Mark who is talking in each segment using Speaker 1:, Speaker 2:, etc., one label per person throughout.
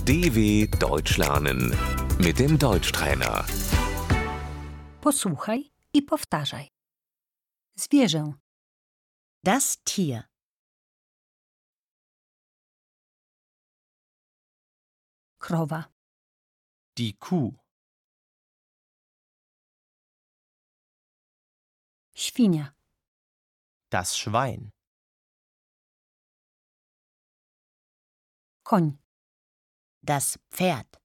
Speaker 1: DW Deutsch lernen mit dem Deutschtrainer.
Speaker 2: Posłuchaj i powtarzaj. Zwierzę,
Speaker 3: Das Tier.
Speaker 2: krowa,
Speaker 4: Die Kuh,
Speaker 2: świnia,
Speaker 4: das Schwein,
Speaker 2: koń,
Speaker 3: Das Pferd.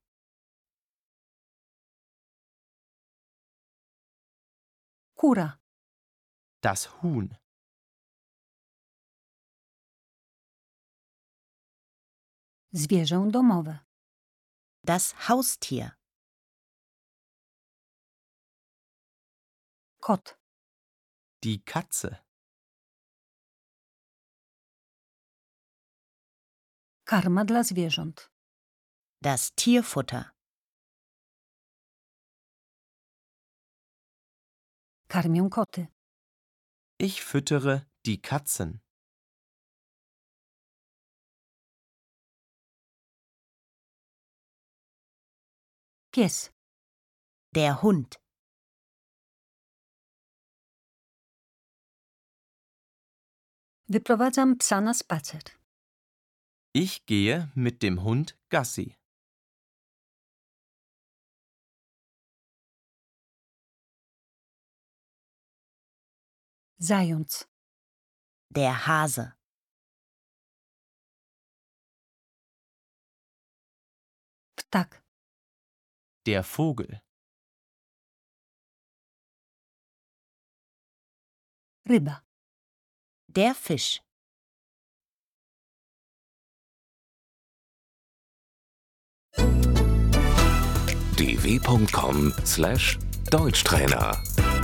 Speaker 2: kura,
Speaker 4: das Huhn,
Speaker 2: zwierzę domowe,
Speaker 3: Das Haustier.
Speaker 2: kot,
Speaker 4: die Katze,
Speaker 2: karma dla zwierząt,
Speaker 3: Das Tierfutter.
Speaker 2: karmię koty,
Speaker 4: ich füttere die Katzen,
Speaker 2: pies,
Speaker 3: Der Hund.
Speaker 2: wyprowadzam psa na spacer,
Speaker 4: ich gehe mit dem Hund Gassi,
Speaker 2: zając,
Speaker 3: Der Hase.
Speaker 2: ptak,
Speaker 4: der Vogel,
Speaker 2: ryba,
Speaker 3: Der Fisch.
Speaker 1: dw.com/Deutschtrainer